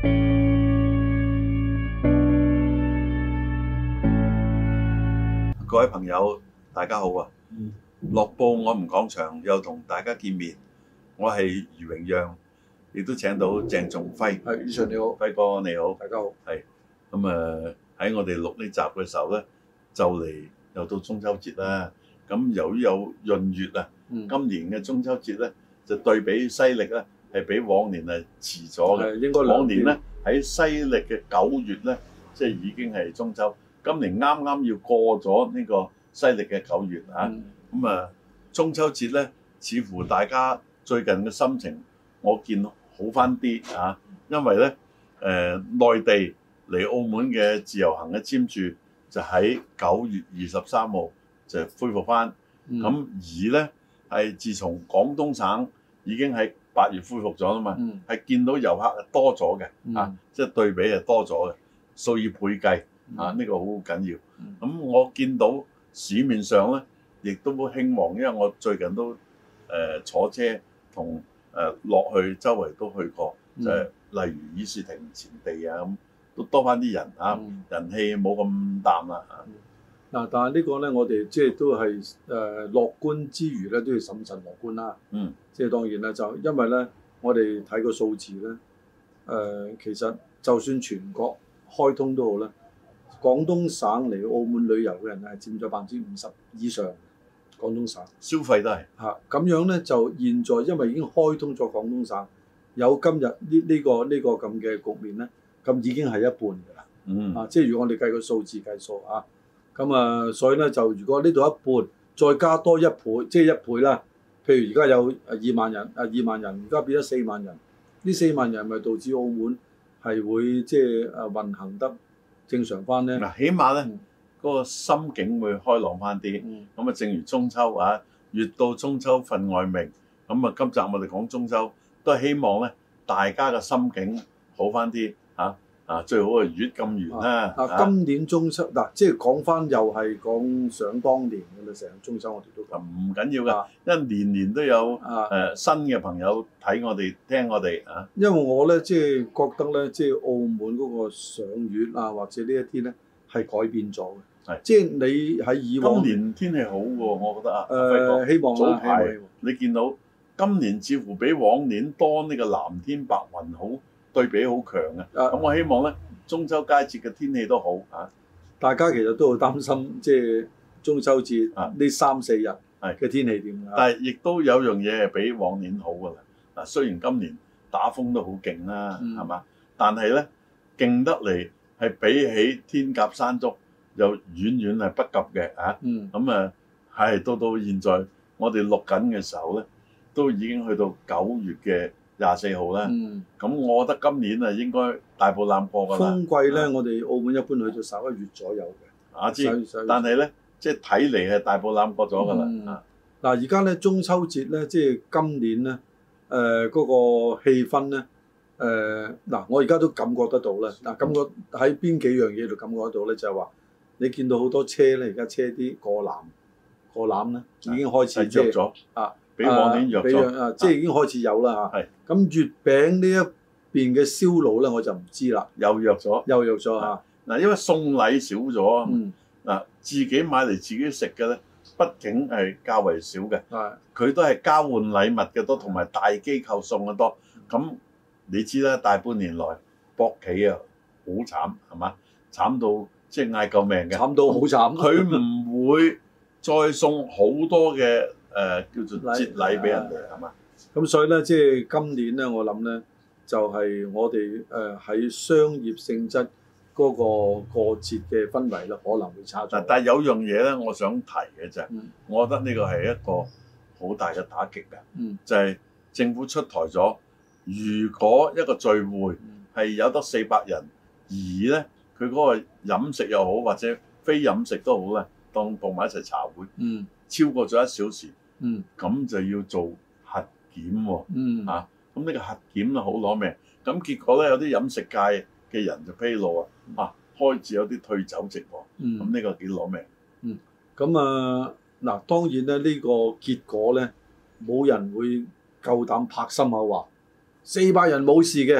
各位朋友，大家好啊！樂報我們講場又同大家見面，我係余榮讓，亦都請到鄭仲輝。 係，余 Sir 你好， 輝哥你好， 大家好。 係咁喺我哋錄呢集嘅時候咧，就嚟又到中秋節啦。咁由於有閏月啊，今年嘅中秋節咧就對比西歷咧係比往年係遲咗嘅。應該往年咧喺西歷嘅9月咧，即係已經係中秋。今年啱啱要過咗呢個西歷嘅9月啊，中秋節咧，似乎大家最近嘅心情，我見好翻啲啊，因為咧內地嚟澳門嘅自由行嘅簽注就喺9月23號就恢復翻，咁而咧係自從廣東省已經喺8月恢復咗啦嘛，係見到遊客係多咗嘅啊，即係對比係多咗嘅，數以倍計。呢個好緊要。咁我見到市面上咧，亦都興旺，因為我最近都坐車同落去周圍都去過，就係例如議事亭前地啊咁，都多翻啲人啊，人氣冇咁淡啦嗱，但係呢個咧，我哋即係都係樂觀之餘咧，都要審慎樂觀啦。即係當然啦，就因為咧，我哋睇個數字咧，其實就算全國開通都好啦。廣東省嚟澳門旅遊嘅人係佔咗50%以上，廣東省消費都係咁樣咧，就現在因為已經開通咗廣東省，有今日呢個咁嘅局面咧，咁已經係一半㗎啦。即係如果我哋計個數字計數所以咧就如果呢度一半，再加多1倍，即係1倍啦。譬如而家有2萬人，2萬人而家變咗4萬人，呢4萬人咪導致澳門係會即係運行得正常翻咧， 起碼咧嗰個心境會開朗翻啲。咁正如中秋越到中秋分外明。咁今集我哋講中秋，都係希望咧大家嘅心境好翻啲最好係月咁圓啦。 今年中秋即係講翻又係講想當年嘅啦，成日中秋我哋都講唔緊要㗎，因為年年都有新嘅朋友睇我哋聽我哋因為我咧即係覺得咧，即係澳門嗰個賞月或者呢一啲咧係改變咗嘅。即係你喺以往今年天氣好喎，我覺得希望早排你見到今年似乎比往年多呢個藍天白雲好。對比好強嘅，咁我希望咧中秋佳節嘅天氣都好大家其實都好擔心，即係中秋節呢3-4日嘅天氣點但係亦都有樣嘢係比往年好㗎啦。雖然今年打風都好勁啦，係嘛？但係咧勁得嚟係比起天鴿山竹又遠遠係不及嘅咁係到現在我哋錄緊嘅時候咧，都已經去到9月嘅24號啦，咁我覺得今年應該大步攬過㗎啦。 風季咧，我哋澳門一般去到11月左右嘅。 但係咧，即係睇嚟係大步攬過咗㗎啦。 而家咧中秋節咧，即係今年咧，嗰個氣氛咧，我而家都感覺得到啦。感覺喺邊幾樣嘢度感覺得到咧，就係話你見到好多車咧，而家車啲過攬咧，已經開始弱咗比往年弱咗， 即係已經開始有啦咁月餅呢一邊嘅銷路咧，我就唔知啦， 又弱咗因為送禮少咗自己買嚟自己食嘅咧，畢竟係較為少嘅。佢都係交換禮物嘅多，同埋大機構送嘅多。咁你知啦，大半年來博企好慘係嘛？慘到即係嗌救命嘅， 慘到好慘。 佢唔會再送好多嘅叫做節禮俾人哋係嘛？ 咁所以咧，即係今年咧，我諗咧就係我哋喺商業性質嗰個過節嘅氛圍咧，可能會差咗。 但係有樣嘢咧，我想提嘅就係，我覺得呢個係一個好大嘅打擊嘅，就係政府出台咗，如果一個聚會係有得400人，而咧佢嗰個飲食又好或者非飲食都好咧，當埋一齊茶會，超過咗1小時，咁就要做核檢喎，咁呢個核檢啊好攞命，咁結果咧有啲飲食界嘅人就披露開始有啲退酒席喎，咁呢個幾攞命。 咁當然咧呢個結果咧，冇人會夠膽拍心口話400人冇事嘅，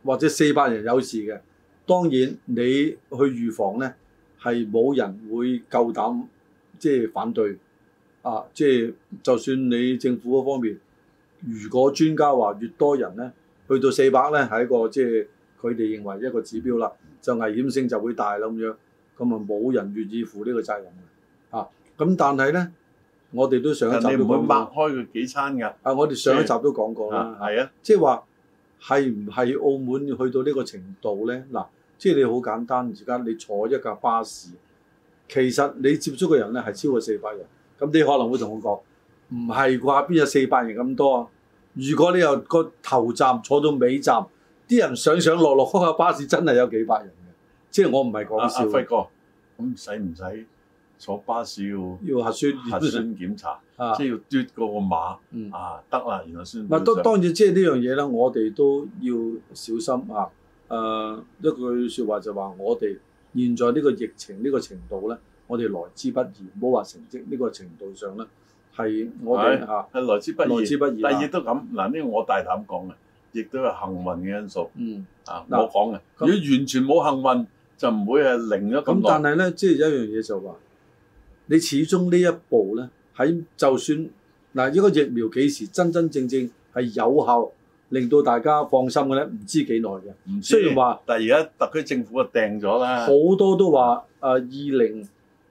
或者400人有事嘅，當然你去預防咧係冇人會夠膽即係反對啊！即係就算你政府嗰方面，如果專家話越多人咧，去到400咧係一個即係佢哋認為一個指標啦，就危險性就會大啦咁樣，咁啊冇人願意負呢個責任嘅啊！咁但係咧，我哋都上一集都講過， 你唔會擘開佢幾餐㗎？ 啊，我哋上一集都講過啦， 係啊， 即係話係唔係澳門去到呢個程度咧？嗱，即係你好簡單，而家你坐一架巴士，其實你接觸嘅人咧係超過400人，咁你可能會同我講，唔係啩？邊有400人咁多啊？如果你由個頭站坐到尾站，啲人上上落落嗰架巴士真係有幾百人嘅，即係我唔係講笑。 輝哥，咁使唔使坐巴士要核酸檢查？即係要嘟嗰個碼得啦，然後先。 嗱，當然即係呢樣嘢咧，我哋都要小心啊。一句説話就話，我哋現在呢個疫情呢個程度咧，我哋來之不易，唔好話成績呢個程度上咧，係我哋係來之不易。 來之不易。 但亦都咁嗱，呢個我大膽講嘅，亦都有幸運嘅因素。我講嘅。如果完全冇幸運，就唔會係零咗咁多。 咁但係咧，即係有一樣嘢就話，你始終呢一步咧，喺就算嗱，呢個疫苗幾時真真正正係有效，令到大家放心嘅咧，唔知幾耐嘅。 唔知。 雖然話， 但係而家特區政府就訂咗啦。 好多都話2021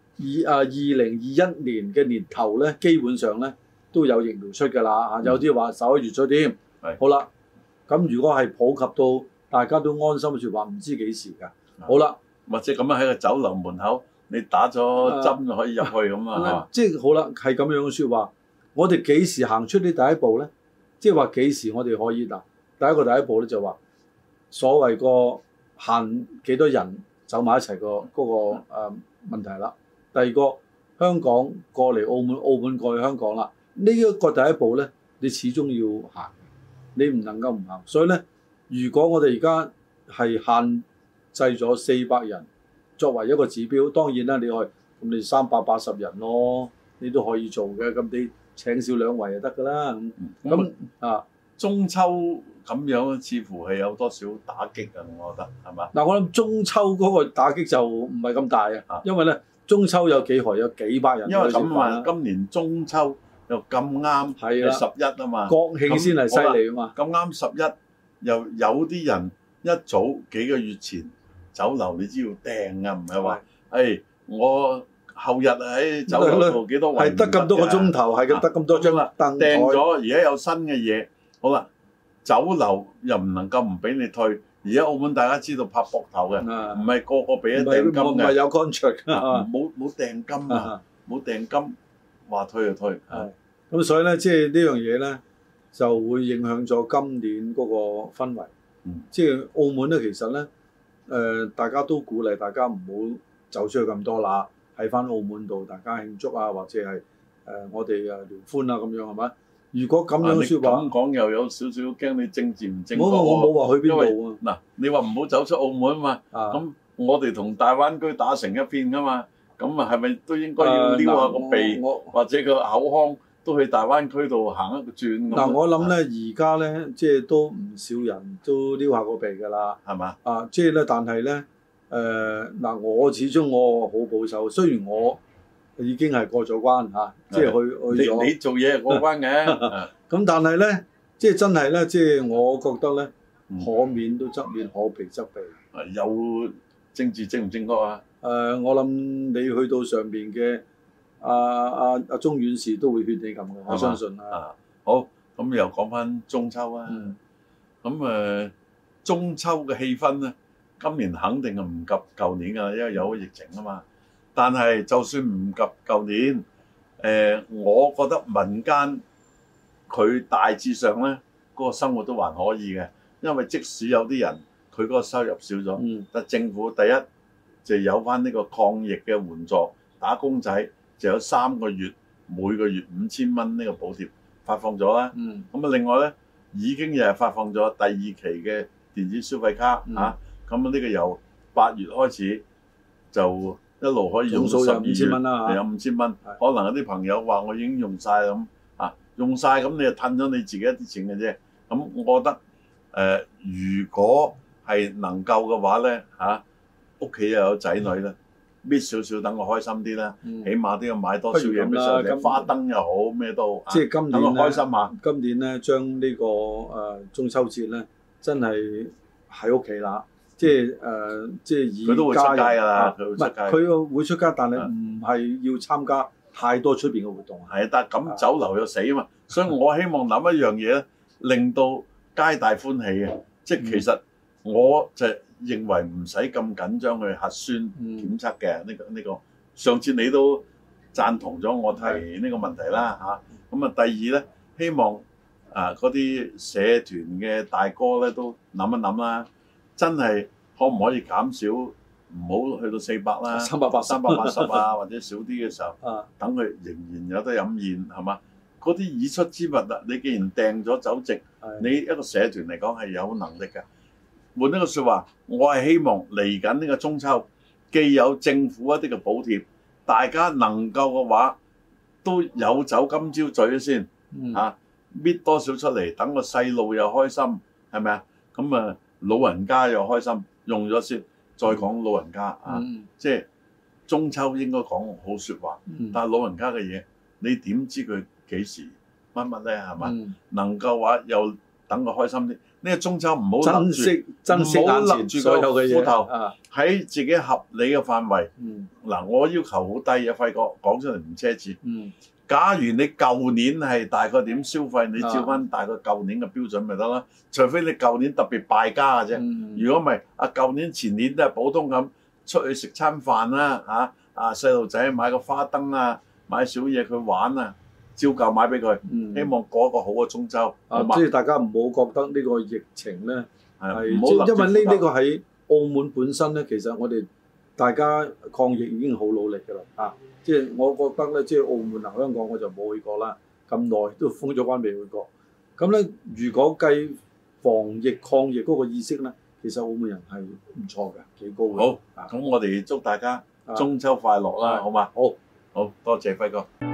年嘅年頭咧，基本上咧都有疫苗出㗎啦。有啲話11月出添。好啦，咁如果係普及到大家都安心説話，唔知幾時㗎。好啦， 或者咁樣喺個酒樓門口，你打咗針就可以入去咁啊。 即係好啦，係咁樣嘅説話。我哋幾時行出呢第一步咧？即係話幾時我哋可以嗱？第一步咧就話所謂個限幾多人走埋一齊個嗰個問題啦。第二個香港過嚟澳門，澳門過去香港啦。呢一個第一步咧，你始終要行，你唔能夠唔行。所以咧，如果我哋而家係限制咗400人作為一個指標，當然啦，你可以咁你380人咯，你都可以做嘅。咁你請少2圍就得㗎啦。咁中秋咁樣似乎係有多少打擊啊？我覺得係嘛？ 嗱，我諗中秋嗰個打擊就唔係咁大啊，因為咧中秋有幾何有幾百人。 因為咁啊，今年中秋又咁啱係11啊嘛， 國慶先係犀利啊嘛。 咁啱11又有啲人一早幾個月前酒樓你知要訂啊，唔係話我後日喺酒樓度幾多位係得咁多個鐘頭，係咁得咁多張凳訂咗，而家有新嘅嘢。好啦，酒樓又唔能夠唔俾你退。而家澳門大家知道拍膊頭嘅，唔係個個俾一訂金嘅， 唔係有 contract 冇訂金啊，冇訂金話退就退。 咁所以咧，即係呢樣嘢咧，就會影響咗今年嗰個氛圍。即係澳門咧，其實咧，大家都鼓勵大家唔好走出去咁多啦，喺翻澳門度大家慶祝啊，或者係我哋聯歡啊咁樣係咪？如果咁樣説話， 咁講又有少少驚你政治唔正確。 我冇話去邊度啊。 嗱，你話唔好走出澳門啊嘛，咁我哋同大灣區打成一片噶嘛，咁啊係咪都應該要撩下個鼻，或者個口腔都去大灣區度行一個轉？ 嗱，我諗咧，而家咧，即係都唔少人都撩下個鼻㗎啦， 係嘛？ 即係咧，但係咧，嗱，我始終我好保守，雖然我已經係過咗關嚇，即係去咗。 你做嘢係過關嘅， 咁但係咧，即係真係咧，即係我覺得咧，可免都則免，可避則避。 有政治正唔正確啊？ 我諗你去到上邊嘅阿鐘院士都會勸你咁嘅，我相信啦。 好，咁又講翻中秋啊。咁中秋嘅氣氛咧，今年肯定係唔及舊年㗎，因為有疫情啊嘛。但係就算唔及舊年，我覺得民間佢大致上咧嗰個生活都還可以嘅，因為即使有啲人佢嗰個收入少咗，但政府第一就有翻呢個抗疫嘅援助，打工仔就有3個月每個月5000蚊呢個補貼發放咗啦。咁另外咧已經又係發放咗第2期嘅電子消費卡嚇，咁呢個由8月開始就一路可以用到12月，有5000蚊。可能有啲朋友話我已經用晒咁用晒咁你就褪咗你自己一啲錢嘅啫。咁我覺得如果係能夠嘅話咧屋企又有仔女啦，搣少少等我開心啲啦，起碼都要買多少嘢俾細路仔，花燈又好咩都好， 即係今年咧， 開心下。 今年咧將呢個中秋節咧，真係喺屋企啦，即係以佢都會出街㗎啦，佢會出街。 佢會出街，但係唔係要參加太多出邊嘅活動。 係，但係咁酒樓又死啊嘛，所以我希望諗一樣嘢咧，令到皆大歡喜嘅。即係其實我就認為唔使咁緊張去核酸檢測嘅呢個。上次你都贊同咗我提呢個問題啦咁啊，第二咧，希望嗰啲社團嘅大哥咧都諗一諗啦，真係可唔可以減少，唔好去到400啦，380啊，或者少啲嘅時候，等佢仍然有得飲宴係嘛？嗰啲已出之物你既然訂咗酒席，你一個社團嚟講係有能力嘅。換一個説話，我係希望嚟緊呢個中秋，既有政府一啲嘅補貼，大家能夠嘅話都有酒今朝醉先搣多少出嚟，等個細路又開心，係咪啊？咁啊，老人家又開心，用咗先，再講老人家即係中秋應該講好説話，但係老人家嘅嘢，你點知佢幾時乜乜咧？係嘛？能夠話又等佢開心啲。呢個中秋唔好珍惜眼前所有嘅嘢， 喺自己合理嘅範圍。嗱，我要求好低嘅，輝哥講出嚟唔奢侈。假如你舊年係大概點消費，你照翻大概舊年嘅標準咪得啦。除非你舊年特別敗家嘅啫。如果唔係，舊年前年都係普通咁出去食餐飯啦，細路仔買個花燈啊，買少嘢佢玩啊。照舊買俾佢，希望過一個好嘅中秋。 即係大家唔好覺得呢個疫情咧係，因為呢個喺澳門本身咧，其實我哋大家抗疫已經好努力㗎啦。即係我覺得咧，即係澳門香港我就冇去過啦，咁耐都封咗關未去過。咁咧，如果計防疫抗疫嗰個意識咧，其實澳門人係唔錯嘅，幾高嘅。 好，咁我哋祝大家中秋快樂啦，好嘛？ 好， 多謝輝哥。